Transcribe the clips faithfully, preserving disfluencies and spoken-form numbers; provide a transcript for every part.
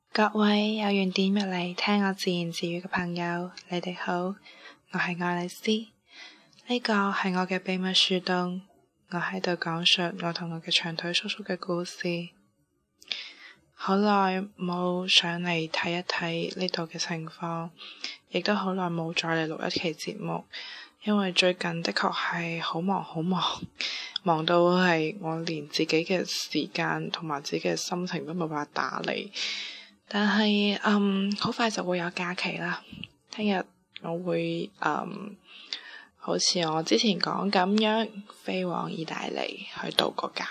各位有緣點入嚟聽我自言自語嘅朋友，你哋好，我係愛麗絲，呢個係我嘅秘密樹洞，我喺度講述我同我嘅長腿叔叔嘅故事。好耐冇上嚟睇一睇呢度嘅情況，亦都好耐冇再嚟錄一期節目，因為最近的確係好忙好忙，忙到係我連自己嘅時間同埋自己嘅心情都冇辦法打理。但係嗯，好快就會有假期啦。聽日我會嗯，好似我之前講咁樣，飛往意大利去度個假。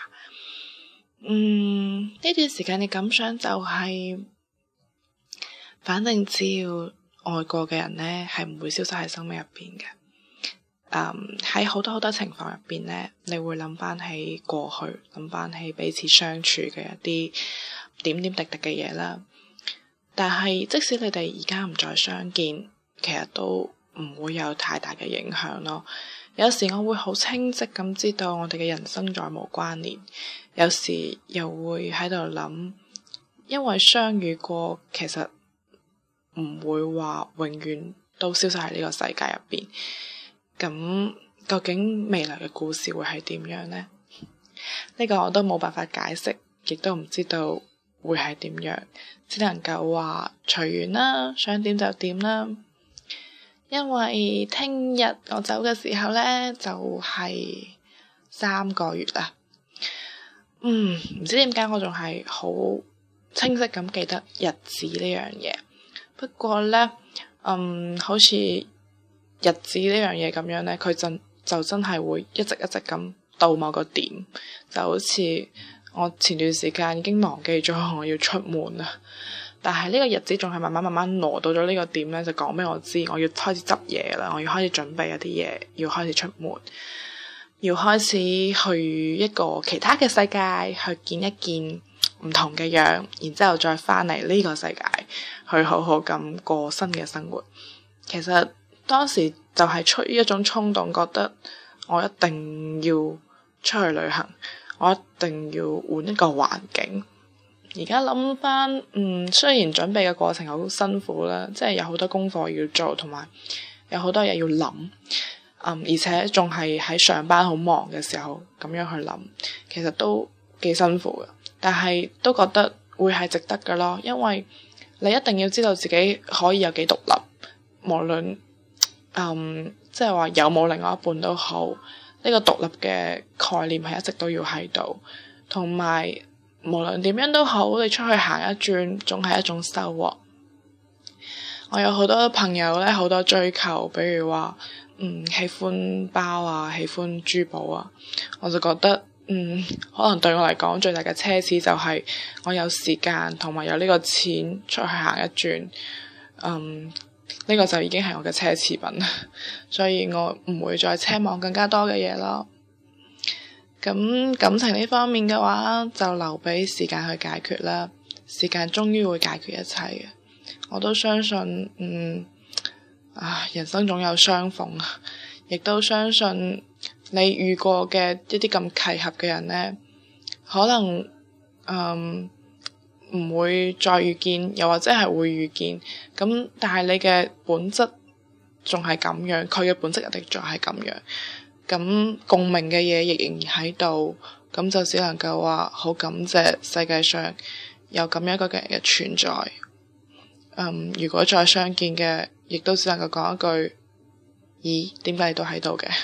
嗯，呢段時間嘅感想就係、是，反正只要愛過嘅人呢，係唔會消失喺生命入邊嘅。嗯，喺好多好多情況入邊呢，你會諗翻起過去，諗翻起彼此相處嘅一啲點點滴滴嘅嘢啦。但係即使你哋而家唔再相見，其實都唔會有太大嘅影響咯。有時我會好清晰咁知道我哋嘅人生再無關聯，有時又會喺度諗，因為相遇過，其實唔會話永遠都消失喺呢個世界入邊。咁究竟未來嘅故事會係點樣呢？呢個我都冇辦法解釋，亦都唔知道會係點樣，只能夠話隨緣啦，想點就點啦。因為聽日我走嘅時候呢，就係、是、三個月啦。嗯，唔知點解我仲係好清晰咁記得日子呢樣嘢。不過呢，嗯，好似日子呢樣嘢咁樣呢，佢就就真係會一直一直咁到某個點，就好似我前段時間已經忘記咗我要出門啦。但係呢個日子仲係慢慢慢慢挪到咗呢個點呢，就講俾我知我要開始執嘢啦，我要開始準備一啲嘢，要開始出門，要開始去一個其他嘅世界去見一見唔同嘅樣，然之後再翻嚟呢個世界去好好咁過新嘅生活。其實當時就係出於一種衝動，覺得我一定要出去旅行，我一定要換一個環境。而家諗翻，嗯，雖然準備嘅過程好辛苦啦，即係有好多功課要做，同埋有好多嘢要諗，嗯，而且仲係喺上班好忙嘅時候咁樣去諗，其實都幾辛苦嘅。但係都覺得會係值得嘅咯，因為你一定要知道自己可以有幾獨立，無論嗯，即係話有冇另外一半都好，呢個獨立嘅概念係一直都要喺度，同埋無論點樣都好，你出去行一轉總係一種收穫。我有好多朋友咧，好多追求，比如話嗯，喜歡包啊，喜歡珠寶啊，我就覺得嗯，可能對我嚟講最大嘅奢侈就係我有時間同埋有呢個錢出去行一轉，嗯，呢個就已經係我嘅奢侈品，所以我唔會再奢望更加多嘅嘢咯。咁感情呢方面嘅話，就留俾時間去解決啦。時間終於會解決一切嘅。我都相信，嗯，啊，人生總有相逢，亦都相信你遇過嘅一啲咁契合嘅人呢，可能，嗯，唔會再遇見，又或者係會遇見。咁但係你嘅本質仲係咁樣，佢嘅本質一定仲係咁樣。咁共鳴嘅嘢亦仍然喺度，咁就只能夠話好感謝世界上有咁樣一個嘅人嘅存在。嗯，如果再相見嘅，亦都只能夠講一句：咦，點解你都喺度嘅？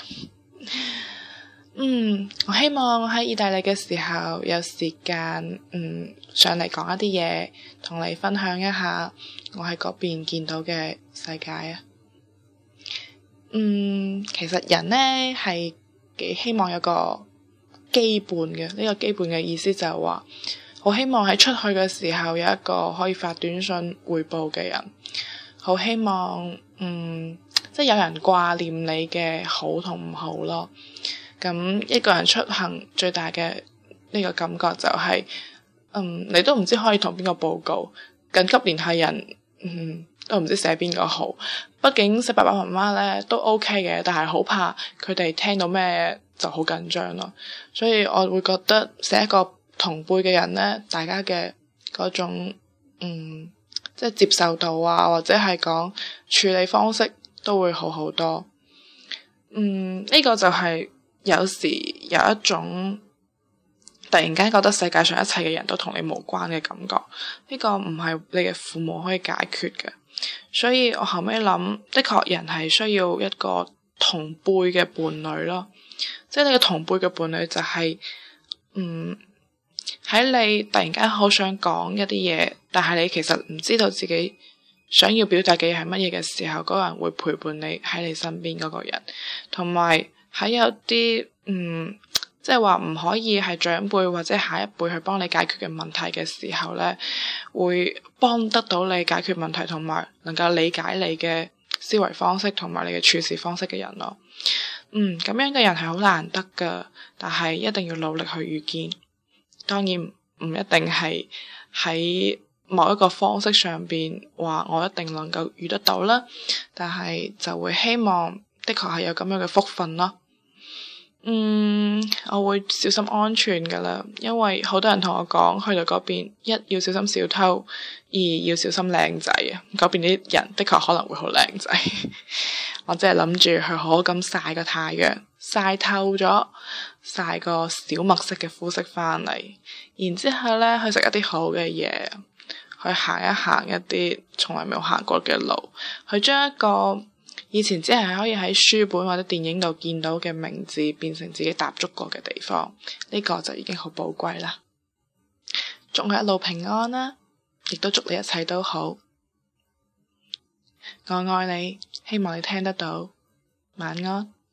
嗯，我希望喺意大利嘅時候有時間，嗯，上嚟講一啲嘢，同你分享一下我喺嗰邊見到嘅世界啊！嗯，其實人呢係幾希望有個基伴嘅，呢個基伴嘅意思就係話，好希望喺出去嘅時候有一個可以發短信匯報嘅人，好希望嗯，即係有人掛念你嘅好同唔好咯。咁一個人出行最大嘅呢個感覺就係，嗯，你都唔知可以同邊個報告，緊急聯繫人，嗯。都唔知寫邊個好，畢竟寫爸爸媽媽咧都 OK 嘅，但係好怕佢哋聽到咩就好緊張咯。所以我會覺得寫一個同輩嘅人咧，大家嘅嗰種嗯，即係接受到啊，或者係講處理方式都會好好多。嗯，呢個就係有時有一種突然間覺得世界上一切嘅人都同你無關嘅感覺，呢個唔係你嘅父母可以解決嘅。所以我後尾諗，的確人係需要一個同輩嘅伴侶咯，即係你嘅同輩嘅伴侶就係，嗯，喺你突然間好想講一啲嘢，但係你其實唔知道自己想要表達嘅嘢係乜嘢嘅時候，嗰個人會陪伴你喺你身邊嗰個人，同埋喺有啲嗯。即係話唔可以係長輩或者下一輩去幫你解決嘅問題嘅時候呢，會幫得到你解決問題，同埋能夠理解你嘅思維方式同埋你嘅處事方式嘅人咯。嗯，咁樣嘅人係好難得噶，但係一定要努力去遇見。當然唔一定係喺某一個方式上邊話我一定能夠遇得到啦，但係就會希望的確係有咁樣嘅福分咯。嗯，我會小心安全噶啦，因為好多人同我講，去到嗰邊一要小心小偷，二要小心靚仔啊。嗰邊啲人的確可能會好靚仔，我真係諗住去好好咁曬個太陽，曬透咗，曬個小麥色嘅膚色翻嚟，然之後呢去食一啲好嘅嘢，去行一行一啲從來冇行過嘅路，去將一個以前只係可以喺書本或者電影度見到嘅名字變成自己踏足過嘅地方，呢個就已經好寶貴啦。祝我一路平安啦，亦都祝你一切都好。我愛你，希望你聽得到。晚安。